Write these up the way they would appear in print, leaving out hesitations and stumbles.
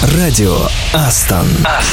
Радио Астон.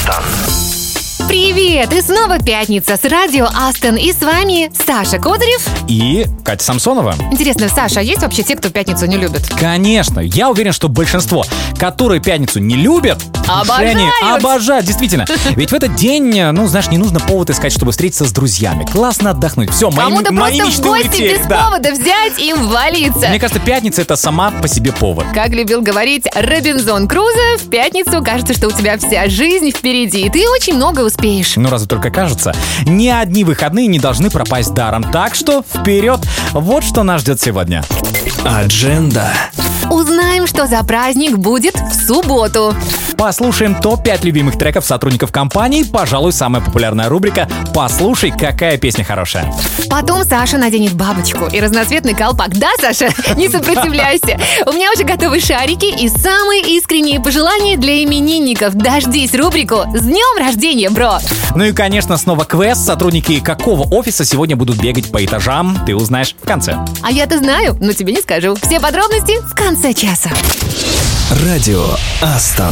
Привет! И снова пятница с радио Астон. И с вами Саша Козырев и Катя Самсонова. Интересно, Саша, а есть вообще те, кто пятницу не любит? Конечно. Я уверен, что большинство, которые пятницу не любят, обожают, действительно. Ведь в этот день, не нужно повод искать, чтобы встретиться с друзьями. Классно отдохнуть. Все, мои Кому-то мечты просто в гости улетели. без повода взять и валиться. Мне кажется, пятница — это сама по себе повод. Как любил говорить Робинзон Крузо, в пятницу кажется, что у тебя вся жизнь впереди, и ты очень много успеешь. Разве только кажется. Ни одни выходные не должны пропасть даром. Так что вперед! Вот что нас ждет сегодня. Адженда. Узнаем, что за праздник будет в субботу. Послушаем топ-5 любимых треков сотрудников компании. Пожалуй, самая популярная рубрика «Послушай, какая песня хорошая». Потом Саша наденет бабочку и разноцветный колпак. Да, Саша? Не сопротивляйся. У меня уже готовы шарики и самые искренние пожелания для именинников. Дождись рубрику «С днем рождения, бро!». И, конечно, снова квест. Сотрудники какого офиса сегодня будут бегать по этажам, ты узнаешь в конце. А я-то знаю, но тебе не скажу. Все подробности в конце часа. Радио Астон.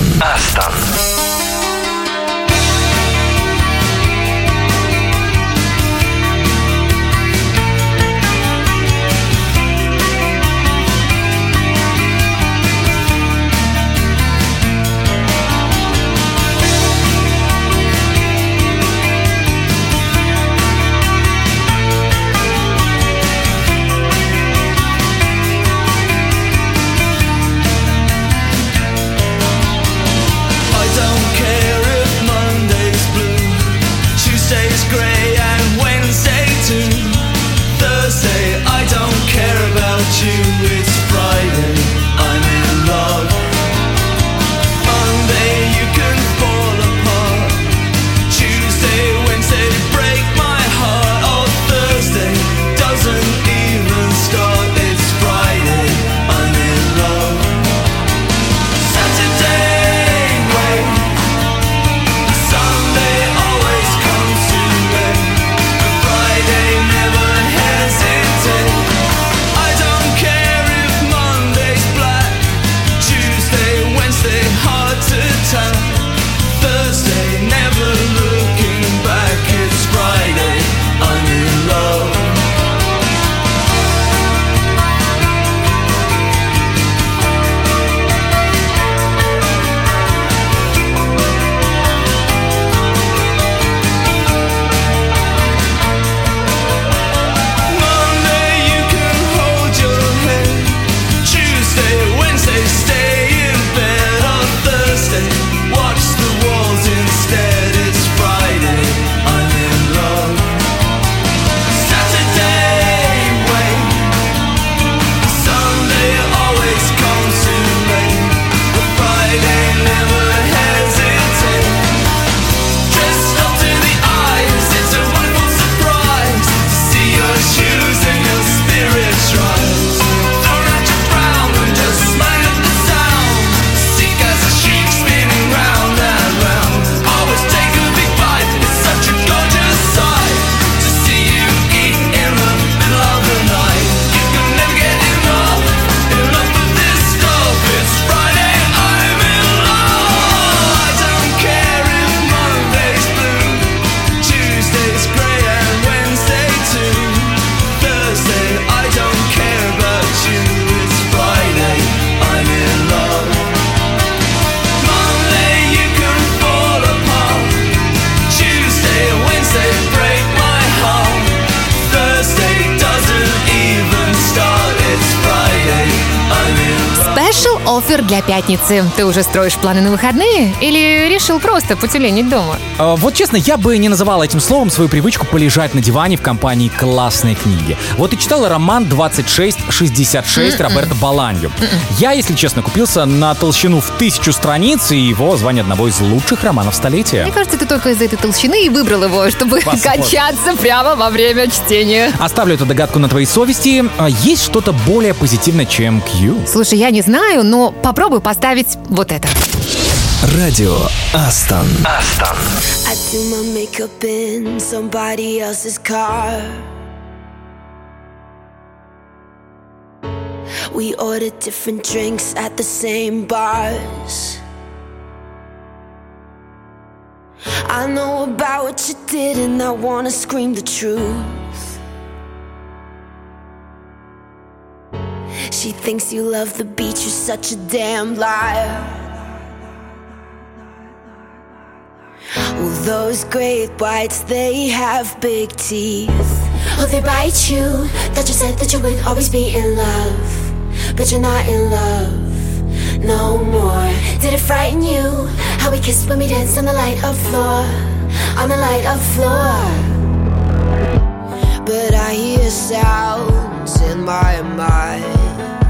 Оффер для пятницы. Ты уже строишь планы на выходные или решил просто потюленить дома? Вот честно, я бы не называл этим словом свою привычку полежать на диване в компании классной книги. Вот и читала роман «2666» Роберто Боланьо. Я, если честно, купился на толщину в 1000 страниц, и его звание одного из лучших романов столетия. Мне кажется, ты только из-за этой толщины и выбрал его, чтобы качаться прямо во время чтения. Оставлю эту догадку на твоей совести. Есть что-то более позитивное, чем Q? Слушай, я не знаю, но попробуй поставить вот это. Радио Астон. I do my makeup in somebody else's car. We ordered different drinks at the same bars. I know about what you did and I wanna scream the truth. She thinks you love the beach, you're such a damn liar. Well, those great whites, they have big teeth. Oh, they bite you. That you said that you would always be in love, but you're not in love no more. Did it frighten you how we kissed when we danced on the light of floor, on the light of floor? But I hear sounds in my mind,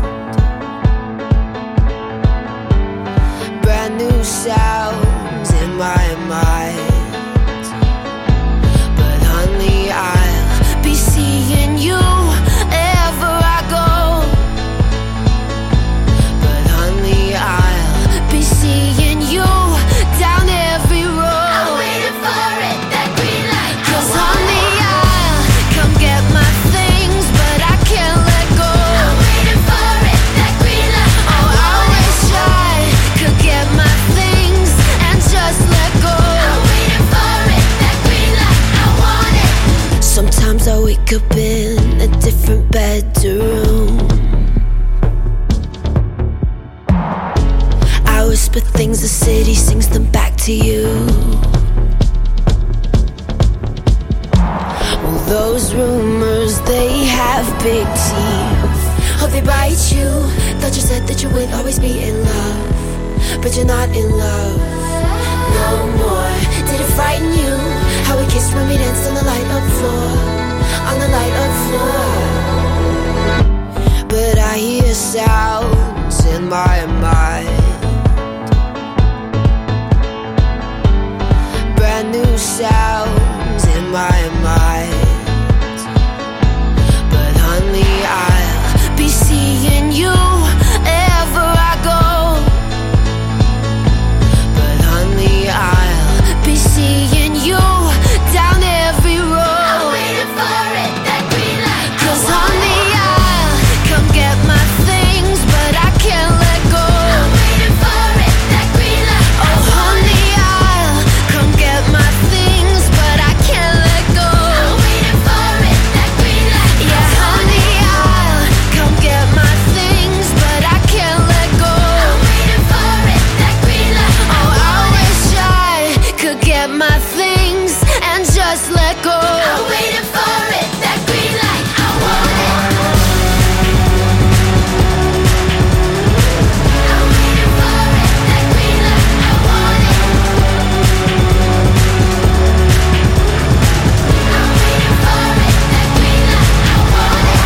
brand new sounds in my mind. But honey, I'll be seeing you wherever I go. But honey, I'll be seeing you down every road. I'm waiting for it, that green light. 'Cause honey, I'll come get my things, but I can't let go. I'm waiting for it, that green light. Oh, I wish I could get my things and just let go. I'm waiting for it, that green light. I want it. Sometimes I wake up in a different bedroom. I whisper things, the city sings them back to you. Well, those rumors, they have big teeth. Oh, they bite you. Thought you said that you would always be in love, but you're not in love no more. Did it frighten you how we kissed when we danced on the light of floor, on the light of floor? But I hear sounds in my mind, brand new sounds in my mind. But honey, I'll be seeing you wherever I go. But honey, I'll be seeing you down every road. I'm waiting for it, that green light. 'Cause honey, I'll come get my things, but I can't let go. I'm waiting for it, that green light. Oh honey, I'll come get my things, but I can't let go. I'm waiting for it, that green light. Yeah, honey, I'll come get my things, but I can't let go. I'm waiting for it, that green light. Oh, I wish I could get my things and just let go. I'm waiting for it, that green light. I want it. I'm waiting for it, that green light. I want it. I'm waiting for it, that green light. I want it.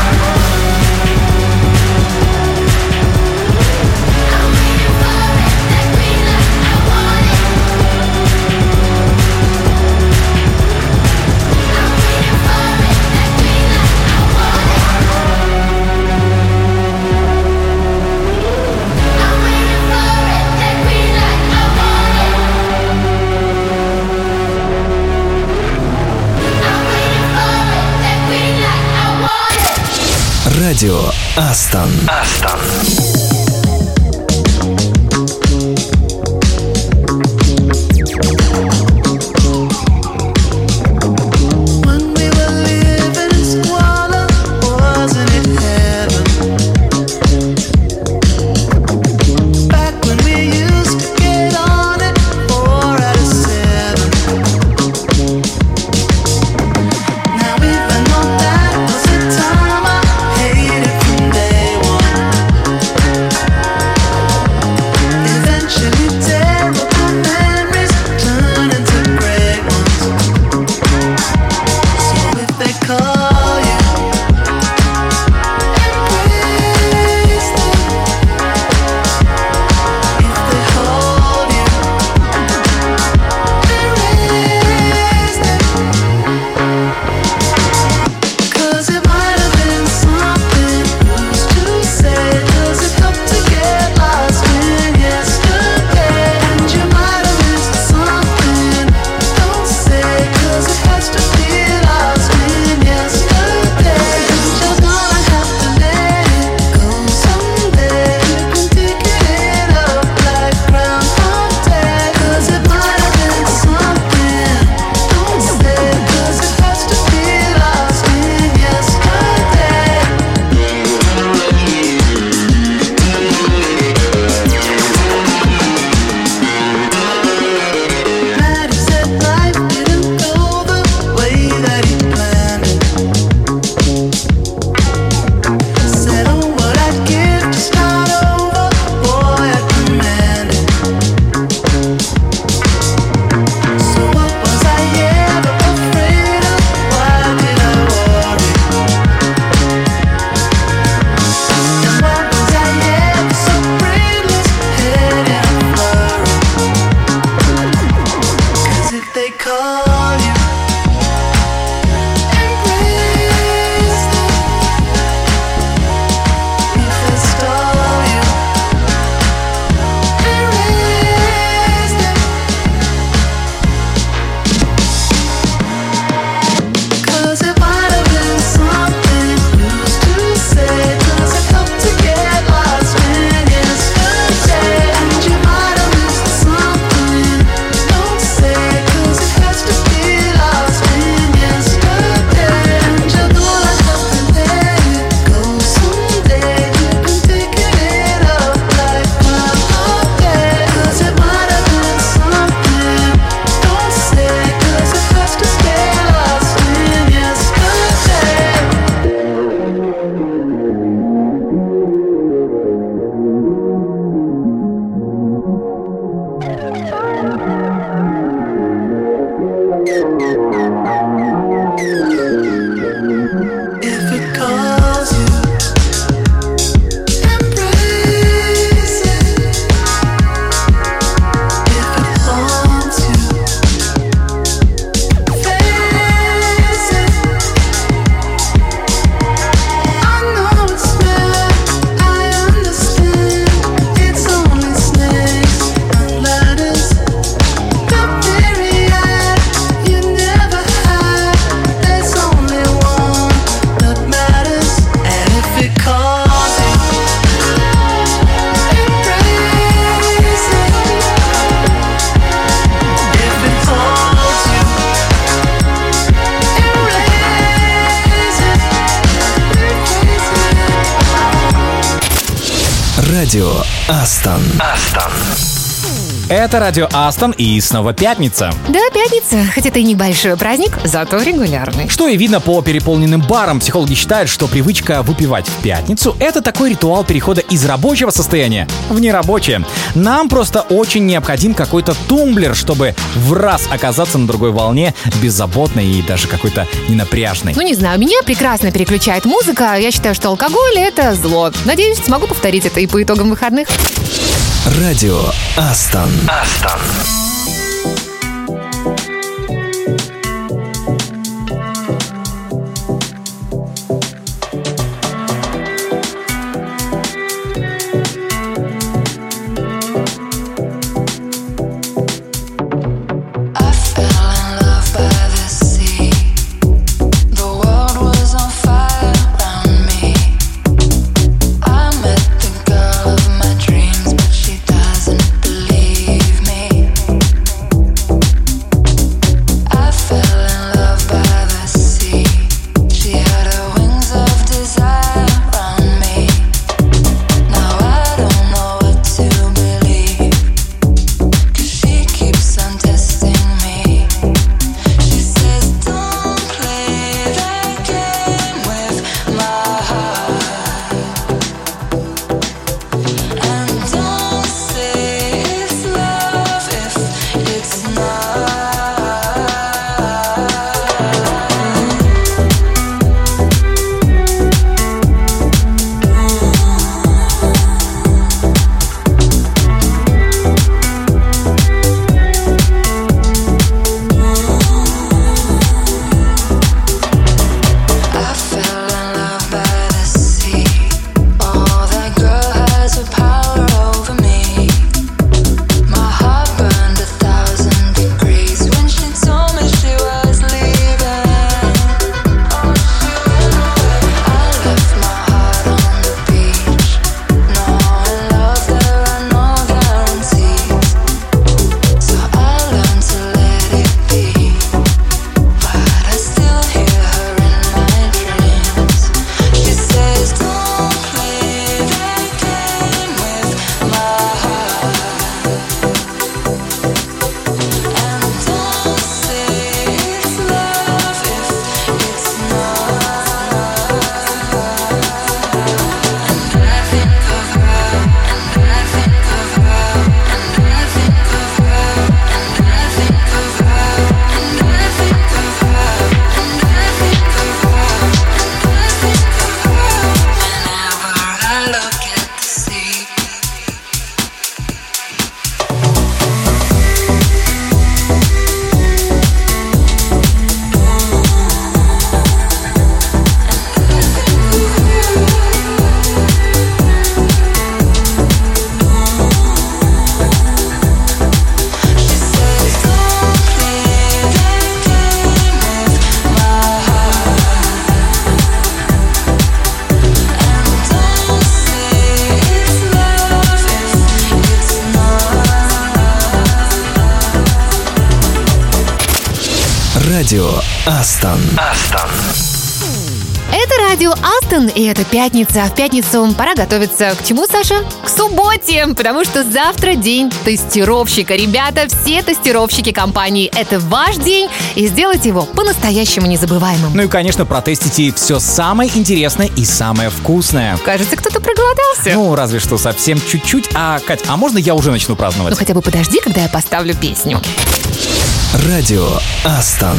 I'm waiting for it, that green light. I want it. I'm waiting for it, that green light. I want it. I'm waiting for it, that green light. I want it. I'm waiting for it, that green light. I want it. Радио Астон. When we were living in squalor, wasn't it heaven? Back when we used to get on it 4 out of 7. Now even though that was the time, I hated from day one. Радио Астон. Это радио Астон и снова пятница. Да, пятница. Хоть это и небольшой праздник, зато регулярный. Что и видно по переполненным барам. Психологи считают, что привычка выпивать в пятницу — это такой ритуал перехода из рабочего состояния в нерабочее. Нам просто очень необходим какой-то тумблер, чтобы в раз оказаться на другой волне, беззаботной и даже какой-то ненапряжной. Ну, не знаю, меня прекрасно переключает музыка. Я считаю, что алкоголь — это зло. Надеюсь, смогу повторить это и по итогам выходных. Радио Астон. Радио Астон. Это радио Астон, и это пятница. В пятницу пора готовиться к чему, Саша? К субботе, потому что завтра день тестировщика. Ребята, все тестировщики компании, это ваш день, и сделайте его по-настоящему незабываемым. Ну и, конечно, протестите все самое интересное и самое вкусное. Кажется, кто-то проголодался. Ну, разве что совсем чуть-чуть. Кать, а можно я уже начну праздновать? Ну хотя бы подожди, когда я поставлю песню. Радио Астон.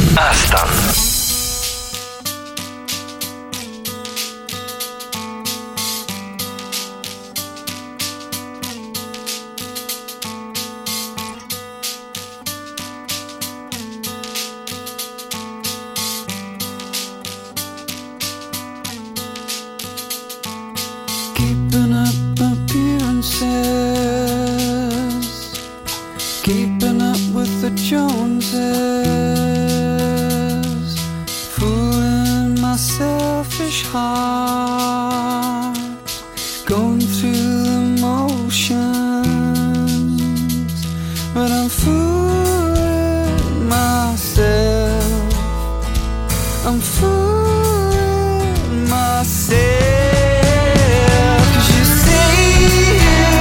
Keeping up appearances, keeping up with the Joneses, fooling my selfish heart, going through the motions, but I'm fooling myself, I'm fooling myself. 'Cause you say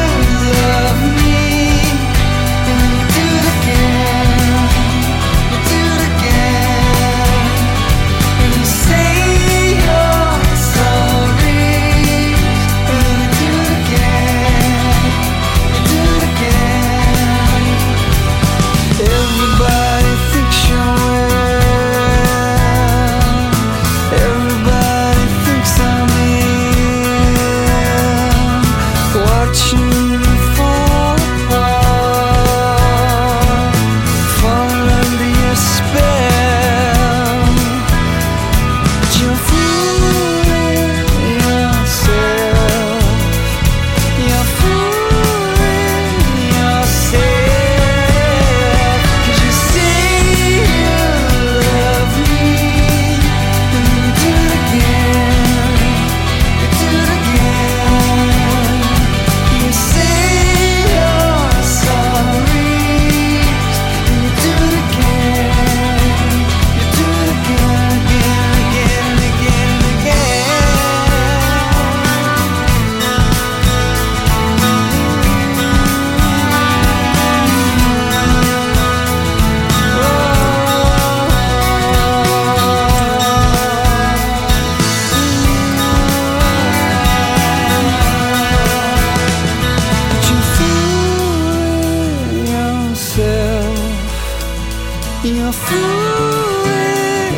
You're fooling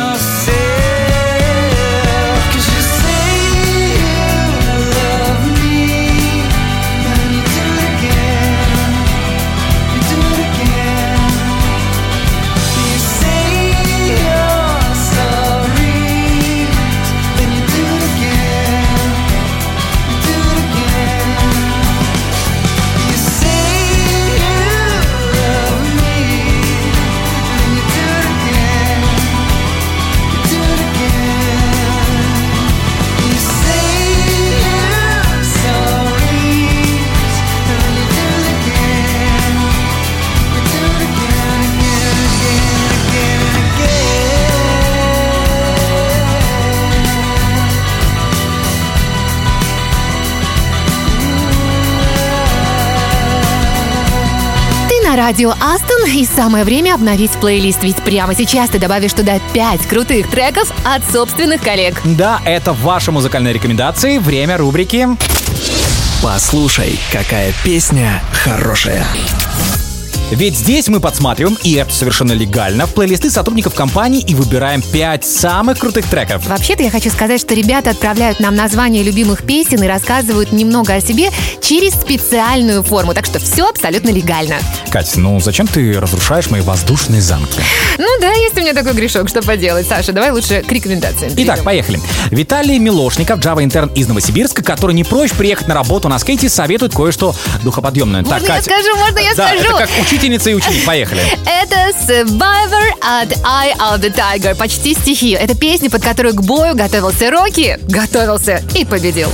yourself, 'cause you say you love me, and you do it again, you do it again. You say you're sorry, then you do it again, you do it again. You say you love me, and you do it again, you do it again. You say you're sorry, and you do it again, you do it again, again, again, Ты на радио Астон, и самое время обновить плейлист, ведь прямо сейчас ты добавишь туда 5 крутых треков от собственных коллег. Да, это ваши музыкальные рекомендации. Время рубрики. Послушай, какая песня хорошая. Ведь здесь мы подсматриваем, и это совершенно легально, в плейлисты сотрудников компании и выбираем 5 самых крутых треков. Вообще-то я хочу сказать, что ребята отправляют нам названия любимых песен и рассказывают немного о себе через специальную форму, так что все абсолютно легально. Кать, ну зачем ты разрушаешь мои воздушные замки? Ну да, есть у меня такой грешок, что поделать. Саша, давай лучше к рекомендациям перейдем. Итак, поехали. Виталий Милошников, Java-интерн из Новосибирска, который не прочь приехать на работу на скейте, советует кое-что духоподъемное. Можно Так, я Катя. скажу, можно я Да, скажу? это как учительница и ученик. Поехали. Это Survivor от Eye of the Tiger. Почти стихи. Это песня, под которую к бою готовился Рокки. Готовился и победил.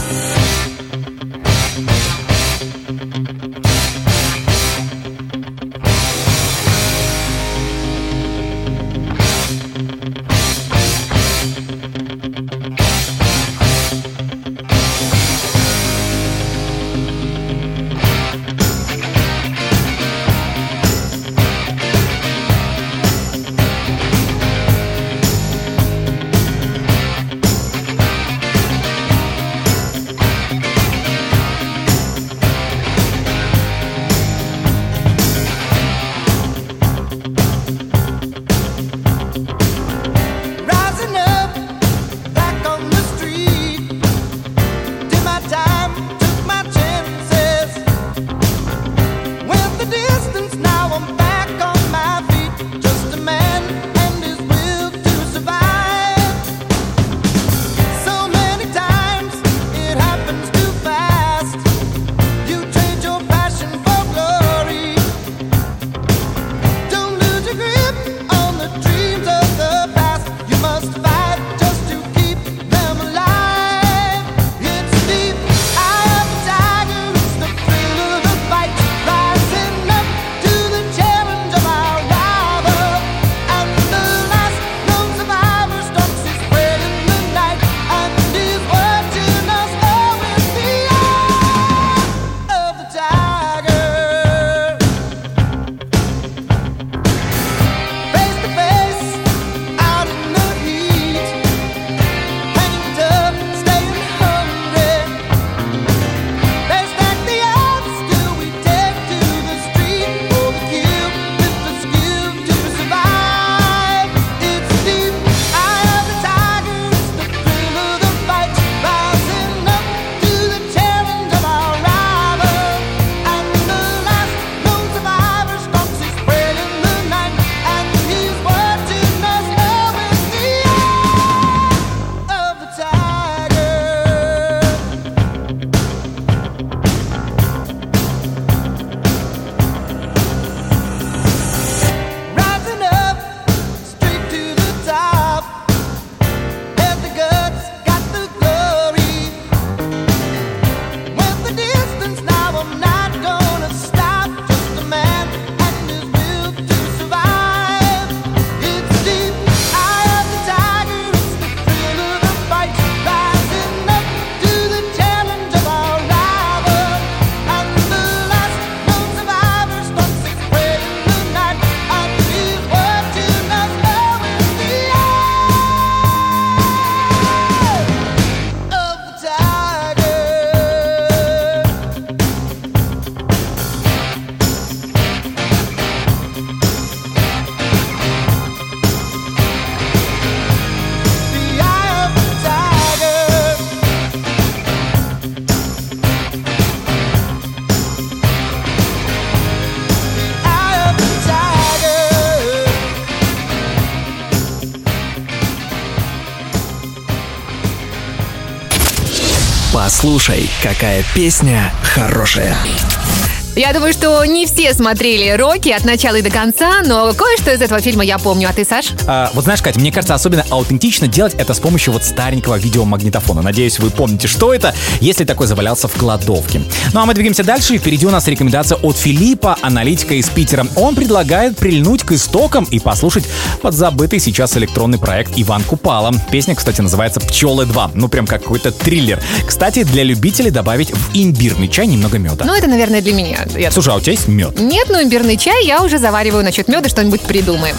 Послушай, какая песня хорошая. Я думаю, что не все смотрели «Рокки» от начала и до конца, но кое-что из этого фильма я помню. А ты, Саш? Вот знаешь, Катя, мне кажется, особенно аутентично делать это с помощью вот старенького видеомагнитофона. Надеюсь, вы помните, что это, если такой завалялся в кладовке. Ну а мы двигаемся дальше, и впереди у нас рекомендация от Филиппа, аналитика из Питера. Он предлагает прильнуть к истокам и послушать подзабытый сейчас электронный проект Иван Купала. Песня, кстати, называется «Пчелы 2». Ну прям как какой-то триллер. Кстати, для любителей добавить в имбирный чай немного меда. Ну, это, наверное, для меня. Слушай, а у тебя есть мед? Нет, но имбирный чай я уже завариваю. Насчет меда что-нибудь придумаем.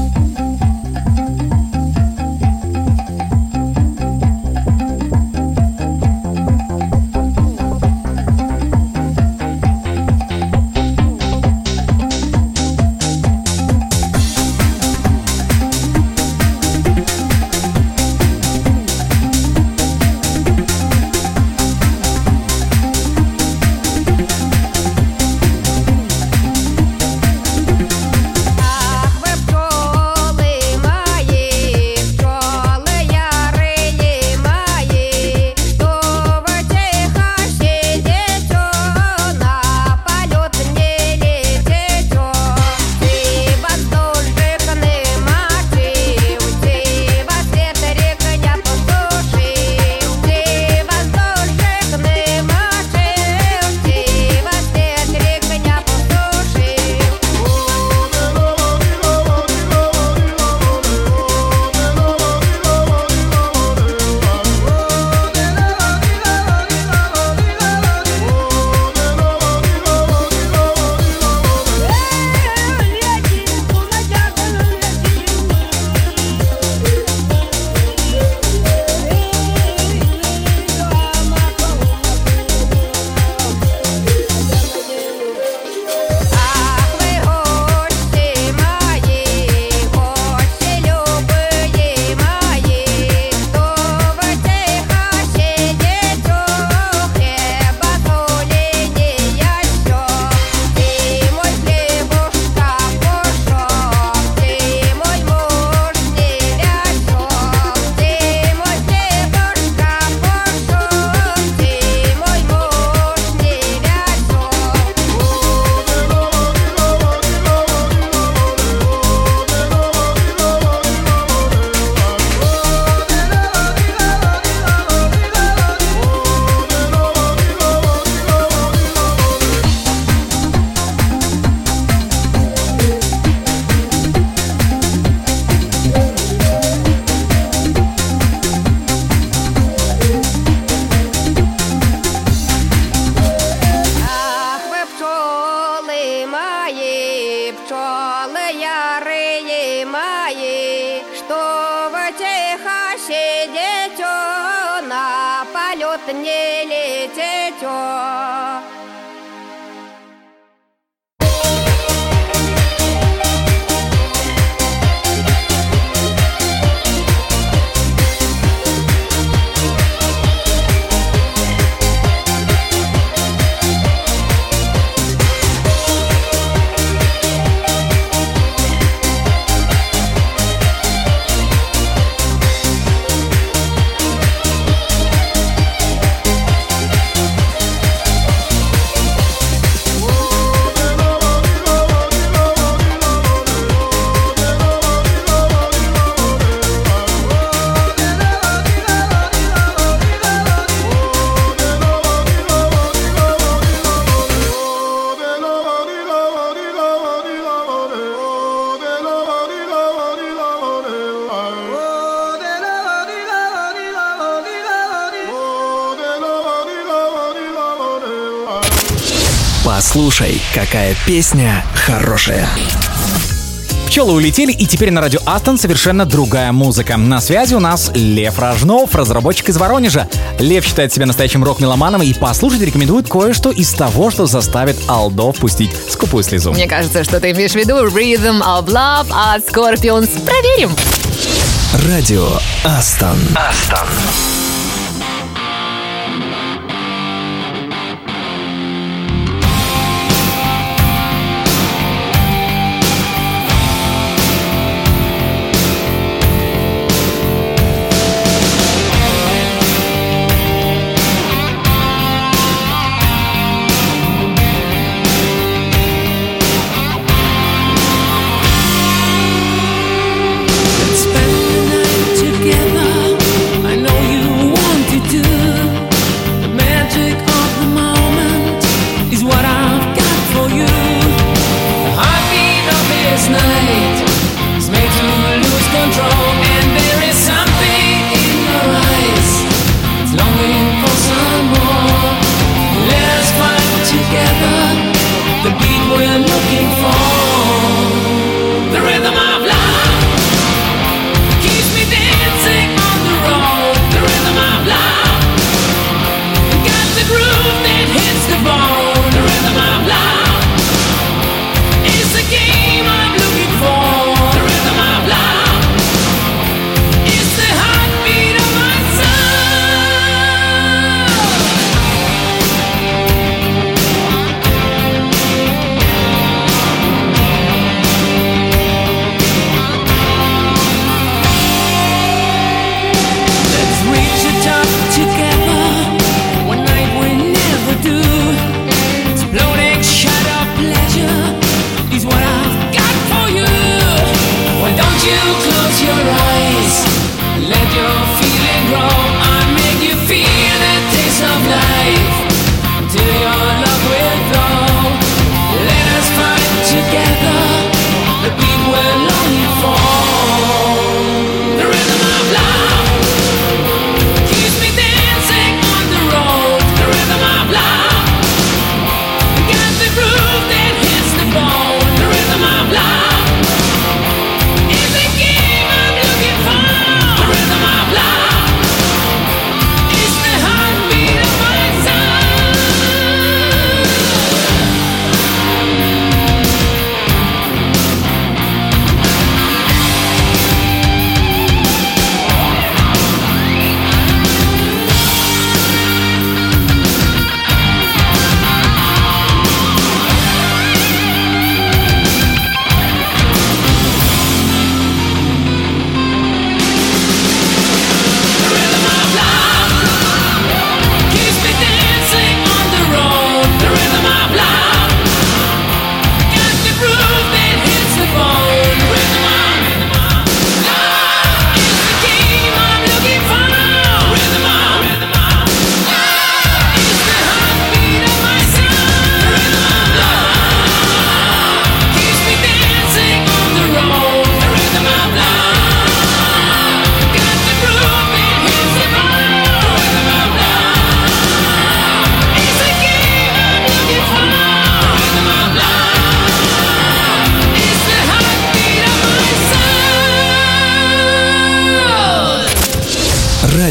не летите. Послушай, какая песня хорошая. Пчелы улетели, и теперь на радио Астон совершенно другая музыка. На связи у нас Лев Рожнов, разработчик из Воронежа. Лев считает себя настоящим рок-меломаном и послушать рекомендует кое-что из того, что заставит Алдов пустить скупую слезу. Мне кажется, что ты имеешь в виду Rhythm of Love от Scorpions. Проверим. Радио Астон. Астон.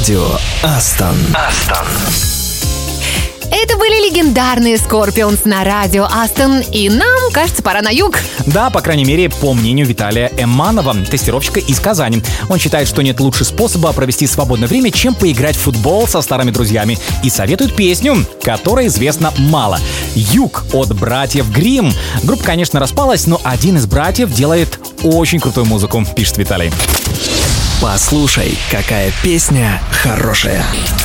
Радио Астон. Это были легендарные Scorpions на радио Астон, и нам, кажется, пора на юг. Да, по крайней мере, по мнению Виталия Эманова, тестировщика из Казани. Он считает, что нет лучше способа провести свободное время, чем поиграть в футбол со старыми друзьями. И советует песню, которая известна мало. «Юг» от братьев Гримм. Группа, конечно, распалась, но один из братьев делает очень крутую музыку, пишет Виталий. Послушай, какая песня хорошая.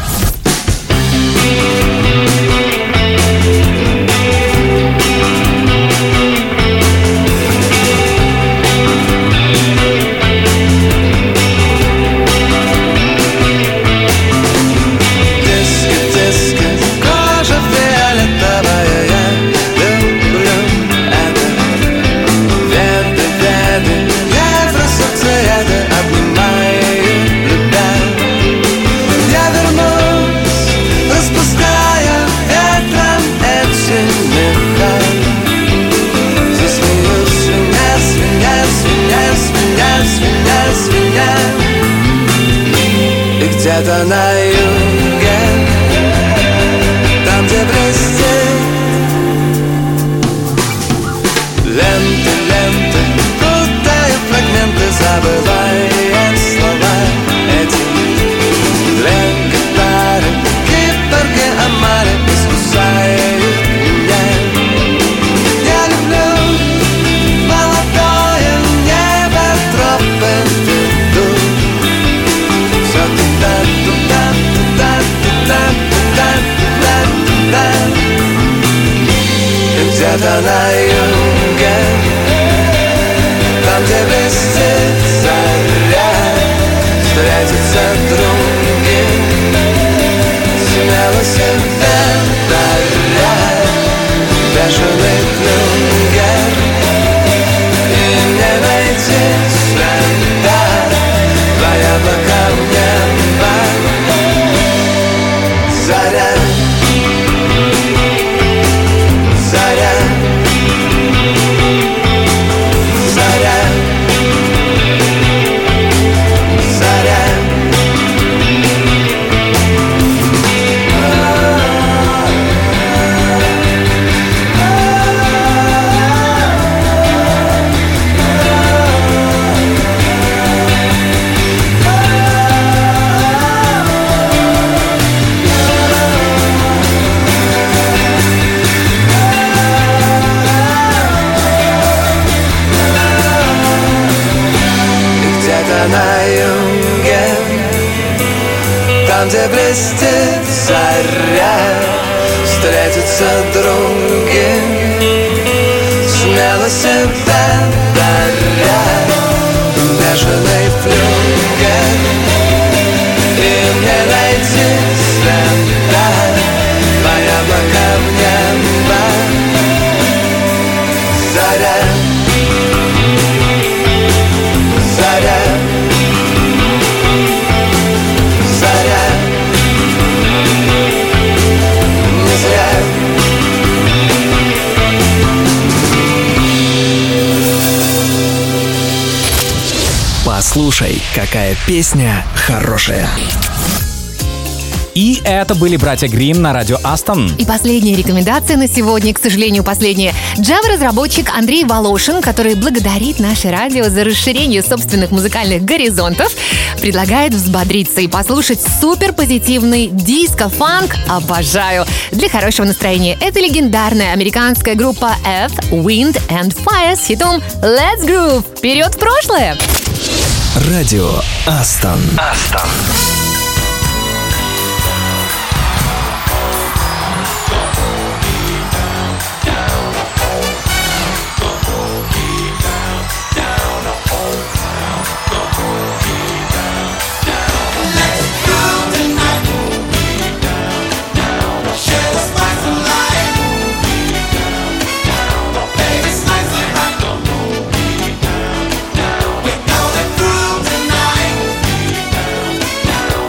Где-то на юге, там, где блестит ленты, путая фрагменты, забывая слова эти. Тлен гитары, киборги омары искусают меня. Я люблю молодое небо, тропы ведут. Все туда, и где-то на юге, там, где блестит заря, встретятся други, смело себя даря. Бешеный флюгер, и не найти следа, твоя пока в небо заря. На юге, там, где блестит заря, встретятся други, смело себя даря. Бешеный флюгер, и мне найти следа, твоя пока в небо заря. Послушай, какая песня хорошая. И это были братья Гримм на радио Астон. И последняя рекомендация на сегодня, к сожалению, последняя. Java-разработчик Андрей Волошин, который благодарит наше радио за расширение собственных музыкальных горизонтов, предлагает взбодриться и послушать суперпозитивный диско-фанк. Обожаю! Для хорошего настроения. Это легендарная американская группа Earth, Wind and Fire с хитом Let's Groove. Вперед в прошлое! Радио Астон. We're gonna groove tonight.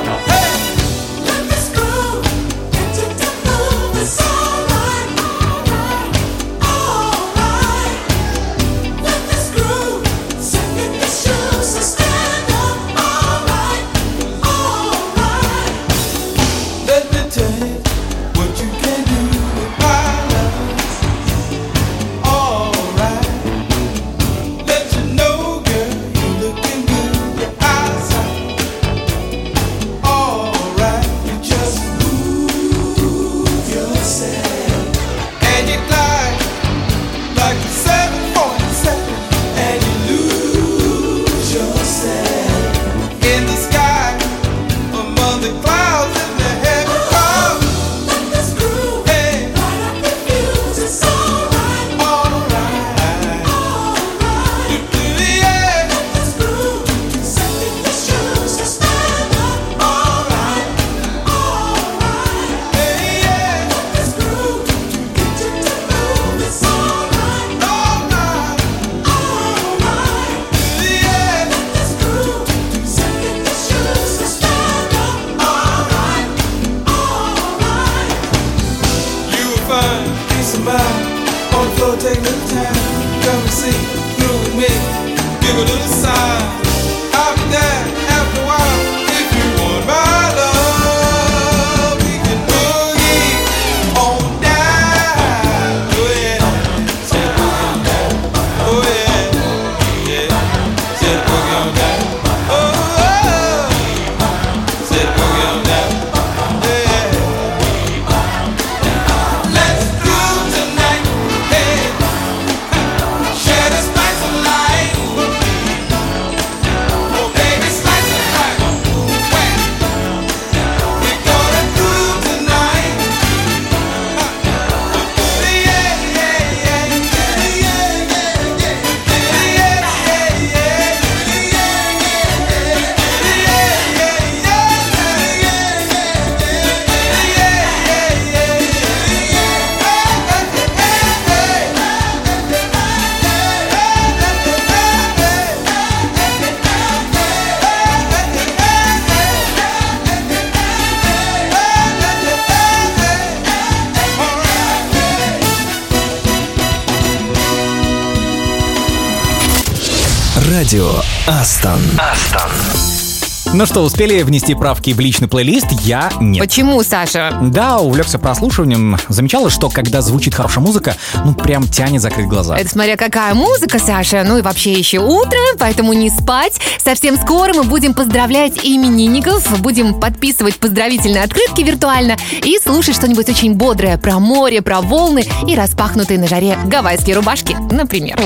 Радио Астон. Ну что, успели внести правки в личный плейлист? Я нет. Почему, Саша? Да, увлекся прослушиванием. Замечала, что когда звучит хорошая музыка, ну прям тянет закрыть глаза. Это смотря какая музыка, Саша. Ну и вообще еще утро, поэтому не спать. Совсем скоро мы будем поздравлять именинников, будем подписывать поздравительные открытки виртуально и слушать что-нибудь очень бодрое про море, про волны и распахнутые на жаре гавайские рубашки, например.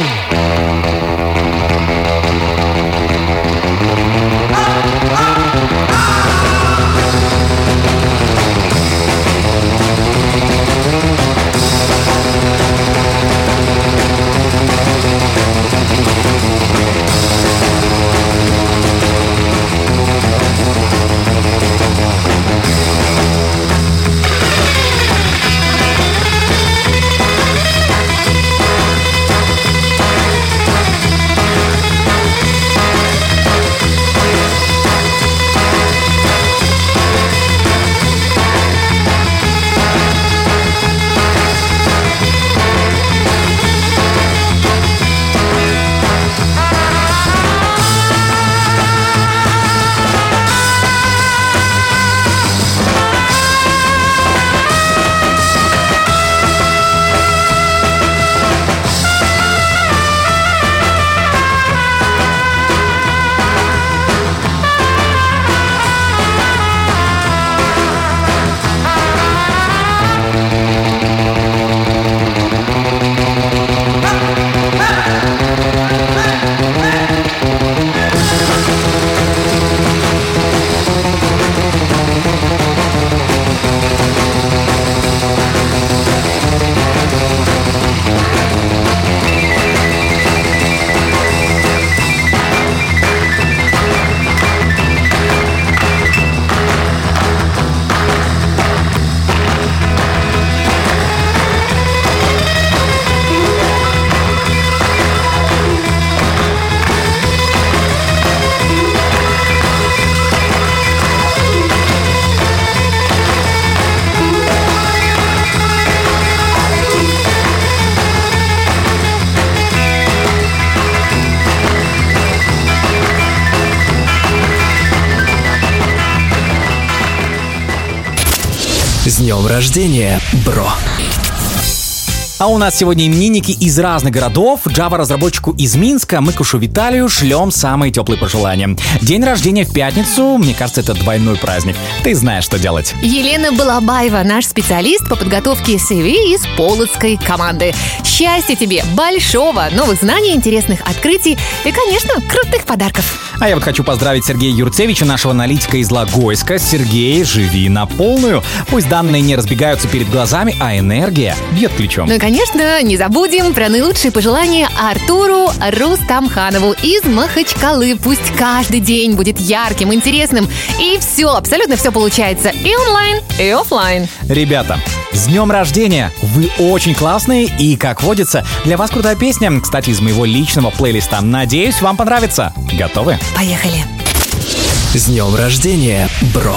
С днем рождения, бро! А у нас сегодня именинники из разных городов. Java-разработчику из Минска, Мыкушу Виталию, шлем самые теплые пожелания. День рождения в пятницу, мне кажется, это двойной праздник. Ты знаешь, что делать. Елена Балабаева, наш специалист по подготовке CV из полоцкой команды. Счастья тебе, большого, новых знаний, интересных открытий и, конечно, крутых подарков. А я вот хочу поздравить Сергея Юрцевича, нашего аналитика из Логойска. Сергей, живи на полную. Пусть данные не разбегаются перед глазами, а энергия бьет ключом. Ну и, конечно, не забудем про наилучшие пожелания Артуру Рустамханову из Махачкалы. Пусть каждый день будет ярким, интересным. И все, абсолютно все получается и онлайн, и офлайн. Ребята, с днем рождения! Вы очень классные и, как водится, для вас крутая песня, кстати, из моего личного плейлиста. Надеюсь, вам понравится. Готовы? Поехали. С днем рождения, бро!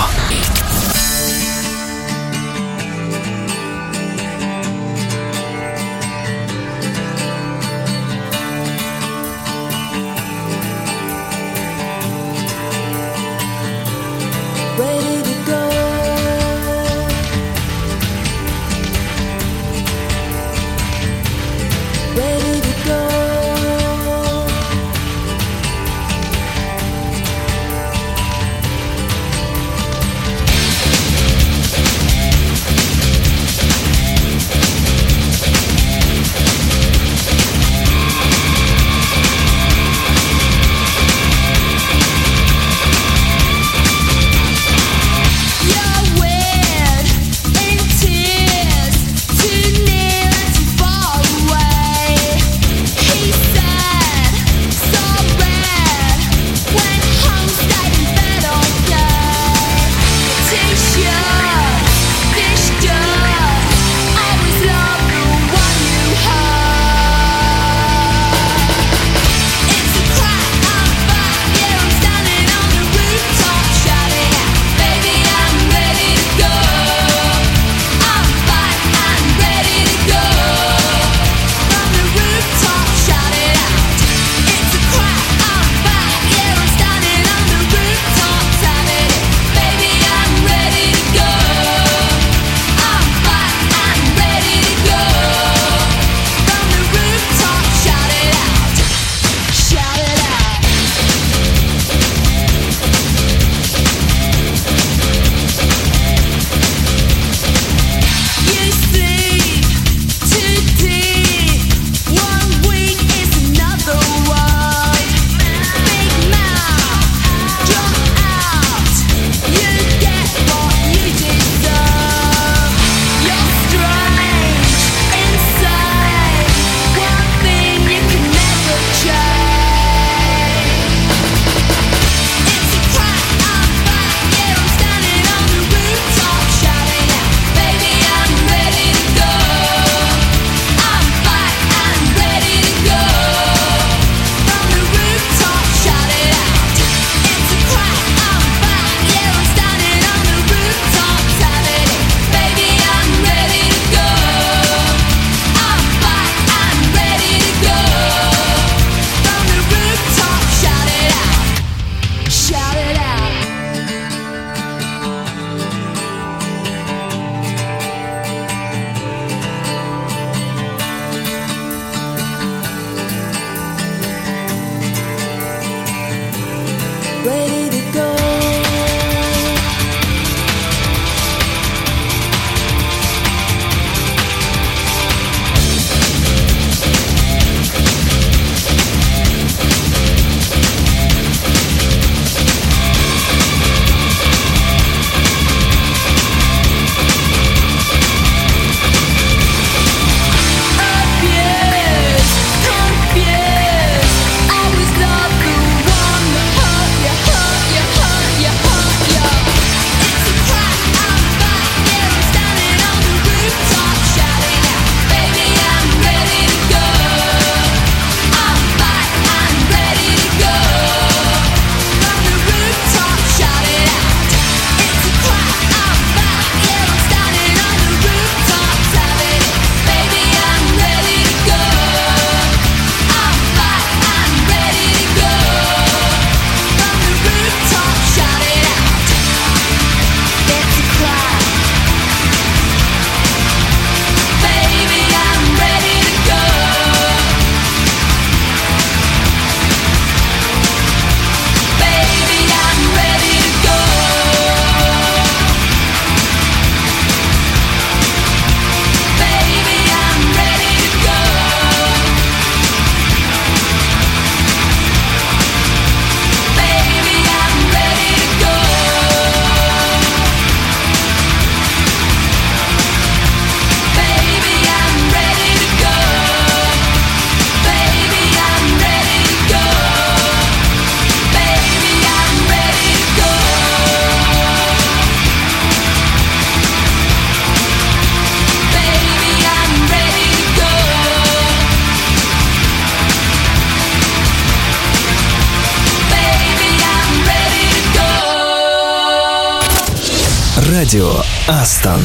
Радио Астон.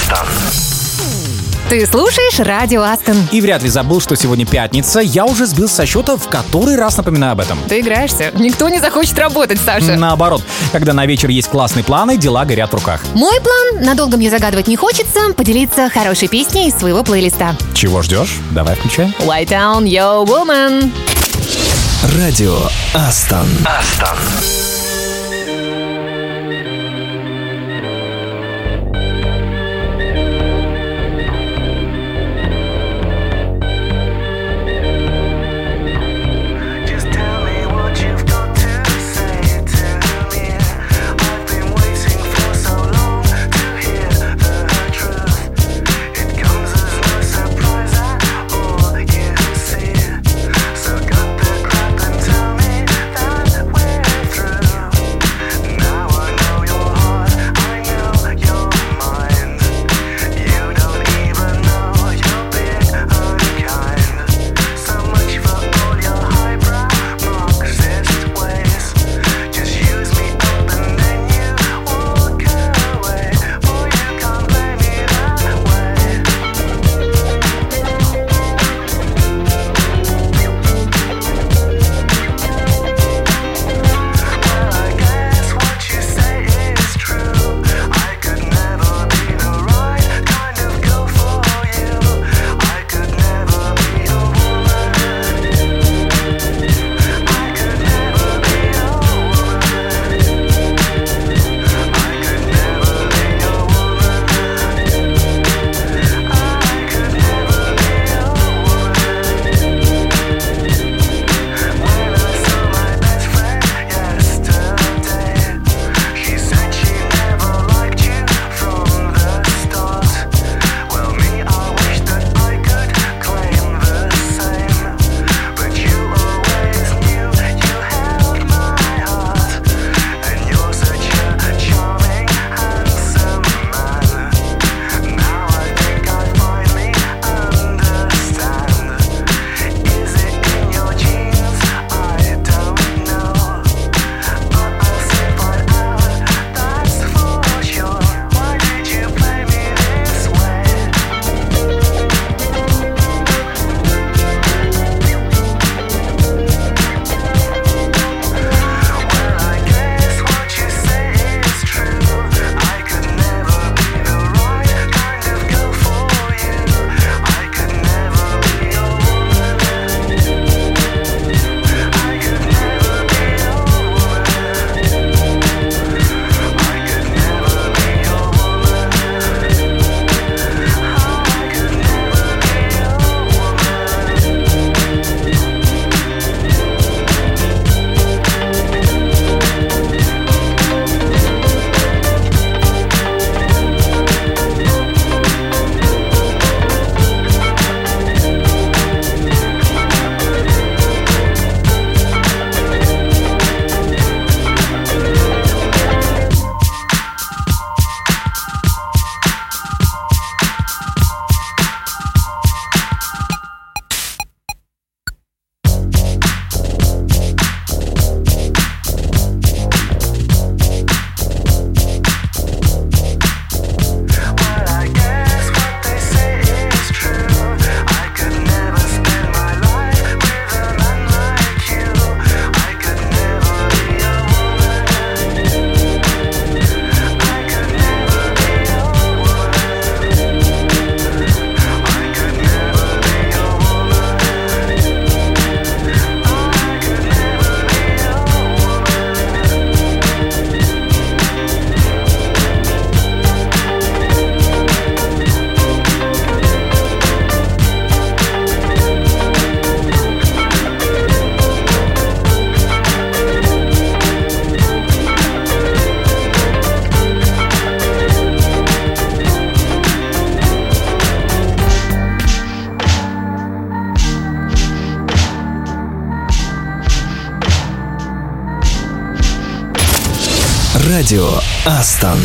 Ты слушаешь радио Астон. И вряд ли забыл, что сегодня пятница. Я уже сбился со счета, в который раз напоминаю об этом. Ты играешься. Никто не захочет работать, Саша. Наоборот, когда на вечер есть классные планы, дела горят в руках. Мой план, надолго мне загадывать не хочется, поделиться хорошей песней из своего плейлиста. Чего ждешь? Давай включай. White Town, Yo Woman. Радио Астон. Just tell me what you've got to say to me. I've been waiting for so long to hear the truth. It comes as no surprise at all, you see. So cut the crap and tell me that we're through. Now I know your heart, I know your mind. You don't even know you're being unkind. So much for all your highbrow Marxist ways. Just use me up and then you walk away. Boy, you can't play me that way. Well, I guess what you say is true. I could never be the right kind of girl for you. I could never be a woman. I could never be a woman. I could never be a woman. I could never be a woman. When I saw my best friend yesterday, she said she never liked you from the start. Well, me, I wish that I could claim the same. But you always knew you held my heart. And you're such a charming, handsome man. Now I think I finally understand. Is it in your genes? I don't know. But I'll say right out, that's for sure. Why did you play me this way? Well, I guess what you say is true. I could never be the right kind of girl for you. I could never be a woman. I could never be a woman. I could never be a woman. I could Well, I guess what they say is true. I could never spend my life with a man like you. I could never be a woman. I could never be a woman. I could never be a woman. I could never be a Радио Астон.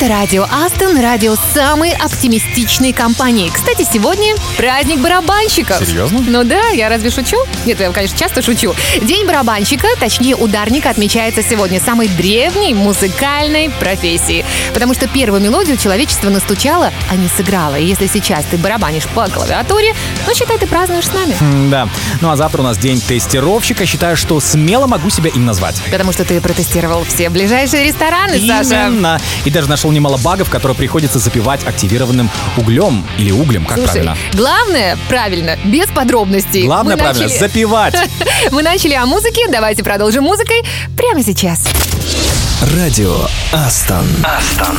Это радио Астон, радио самой оптимистичной компании. Кстати, сегодня праздник барабанщиков. Серьезно? Ну да, я разве шучу? Нет, я, конечно, часто шучу. День барабанщика, точнее ударника, отмечается сегодня самой древней музыкальной профессии. Потому что первую мелодию человечество настучало, а не сыграло. И если сейчас ты барабанишь по клавиатуре, ну, считай, ты празднуешь с нами. Да. Ну а завтра у нас день тестировщика. Считаю, что смело могу себя им назвать. Потому что ты протестировал все ближайшие рестораны, Саша. Именно. И даже нашел немало багов, которые приходится запивать активированным углем или углем, как Слушай, правильно? главное, правильно, без подробностей. Главное, Мы правильно, начали- запивать. Мы начали о музыке, давайте продолжим музыкой прямо сейчас. Радио Астон. Астон.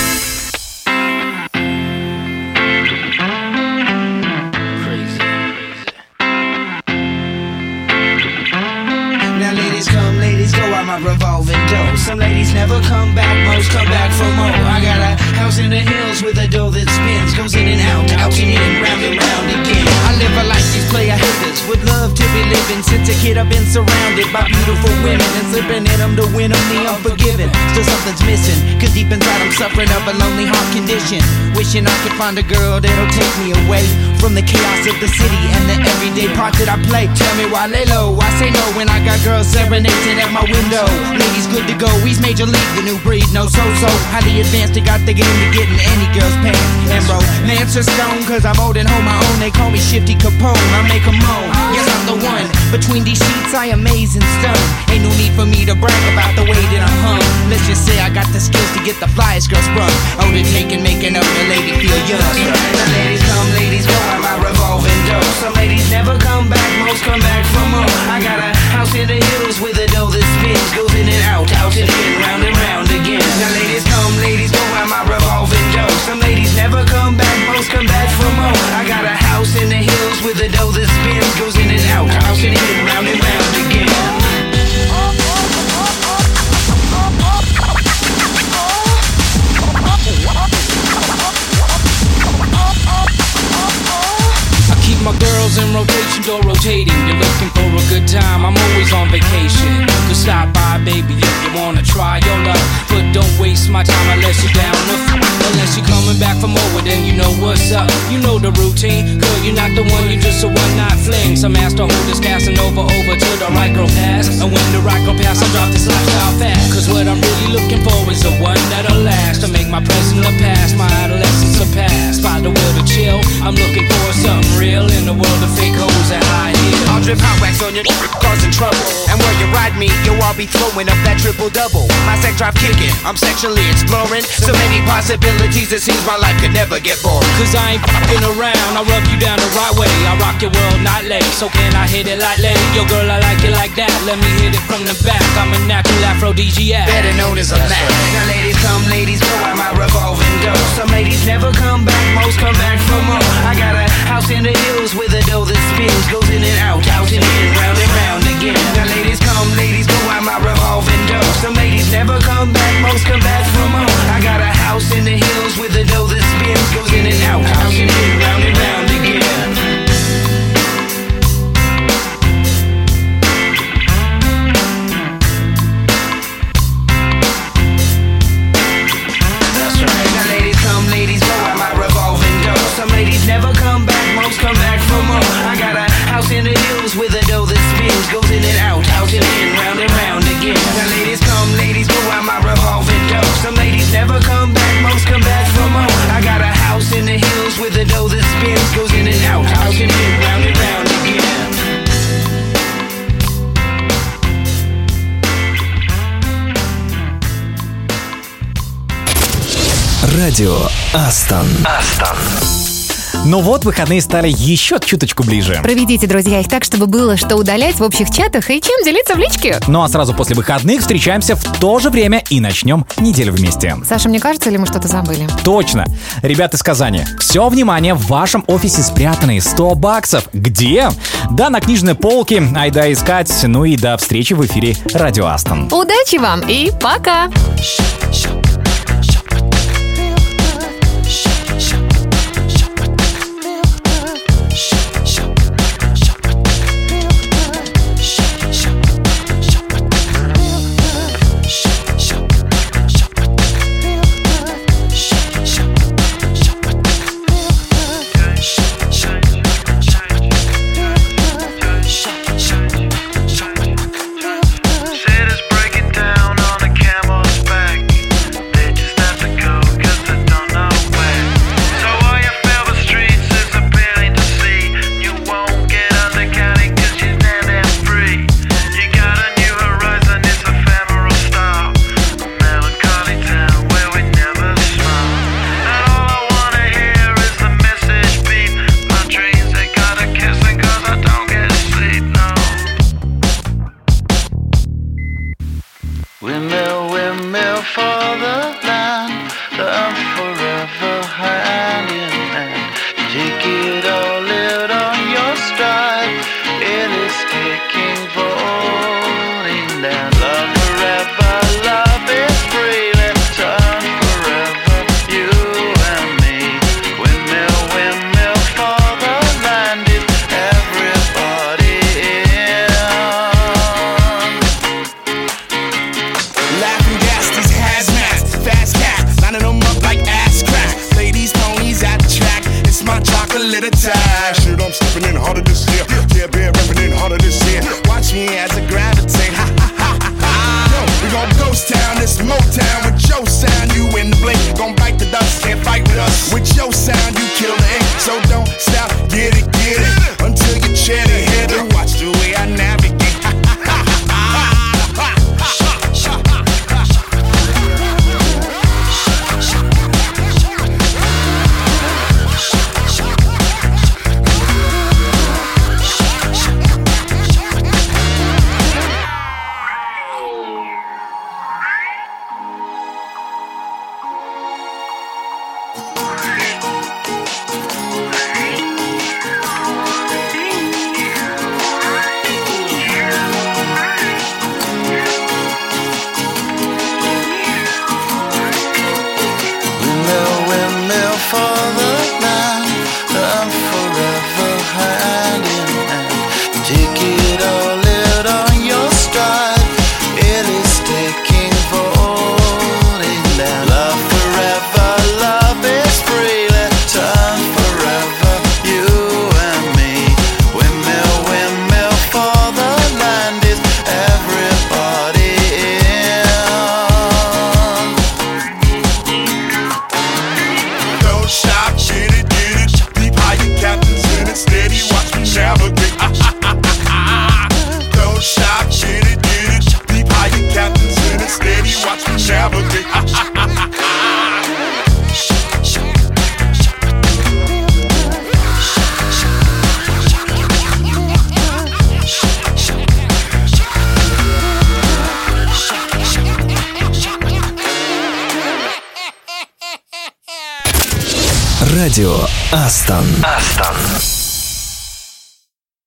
Now ladies come, ladies go, I'm a revolving door. Some ladies never come back, most come back for more. I got a house in the hills with a door that spins, goes in and out and in, round and round again. I live a life these player haters would love to be living. Since a kid I've been surrounded by beautiful women and slipping in them to win them the unforgiven. Still something's missing, cause deep inside I'm suffering of a lonely heart condition. Wishing I could find a girl that'll take me away from the chaos of the city and the everyday part that I play. Tell me why lay low, I say no when I got girls serenading at my window. Ladies good to go, he's major league, the new breed, no so-so. Highly advanced, they got the game to get in any girl's pants. And bro, Lance are stone, cause I'm old and hold my own. They call me Shifty Capone, I make 'em moan. Yes, I'm the one, between these sheets I amaze and stun. Ain't no need for me to brag about the way that I'm hung. Let's just say I got the skills to get the flyest girl sprung. Oh, to take and make another lady feel young. Now ladies come, ladies go, I'm a revolving door. Some ladies never come back, most come back for more. I got a house in the hills with a door that spins, goes in and out and in, round and round again. Now ladies come, ladies go, I'm a revolving door. Some ladies never come back, most come back for more. I got a house in the hills with a door that spins, goes in and out and in, round and round again. Keep my girls in rotation, door rotating. You're looking for a good time, I'm always on vacation. You stop by, baby, if you wanna try your luck. But don't waste my time unless you're down to unless you're coming back for more, well, then you know what's up. You know the routine, girl, you're not the one, you're just a one-night fling. Some ass to hold this casting over to the right girl pass. And when the right girl pass, I'll drop this lifestyle fast. Cause what I'm really looking for is the one that'll last. To make my present the past, my adolescence surpass. By the will to chill, I'm looking for something real in the world of fake hoes and high heels. I'll drip hot wax on your causing trouble. And when you ride me, yo, I'll be throwing up that triple-double. My sex drive kicking, I'm sexually exploring. So many possibilities, it seems my life could never get boring. Cause I ain't f***ing around, I rub you down the right way. I rock your world nightly, so can I hit it lightly? Yo girl, I like it like that, let me hit it from the back. I'm a natural aphrodisiac, better known as a Mac. Now ladies come, ladies go, I'm a revolving door. Some ladies never come back, most come back for more. I got a house in the hills with a door that spins, goes in and out and in, round and round again. Now ladies come, ladies go, I'm a revolving door. Some ladies never come back, most come back for more. I got a house in the hills with a door that spins, goes in and out and in, round and round again. Ladies go, I'm a revolving door. Some ladies never come back, most come back for more. I got a house in the hills with a door that spins, goes in and out and in, round and round again. Now ladies come, ladies go, I'm a revolving door. Some ladies never come back, most come back for more. I got a house in the hills with a door that spins, goes in and out and in, round and round again. Радио Астон. Астон. Ну вот, выходные стали еще чуточку ближе. Проведите, друзья, их так, чтобы было что удалять в общих чатах и чем делиться в личке. Ну а сразу после выходных встречаемся в то же время и начнем неделю вместе. Саша, мне кажется, или мы что-то забыли? Точно. Ребята из Казани, все внимание, в вашем офисе спрятаны 100 баксов. Где? Да, на книжной полке. Айда искать. Ну и до встречи в эфире Радио Астон. Удачи вам и пока! to the tide. Shit, I'm stepping in harder this year. Yeah, been repping in harder this year. Watch me as I gravitate. Ha ha ha ha ha. Yo, we gon' ghost town, this Motown with your sound. You in the blink, gon' bite the dust, can't fight with us. With your sound, you kill the ink. So don't stop, get it, until you chair the head and watch the way I navigate. Радио Астон.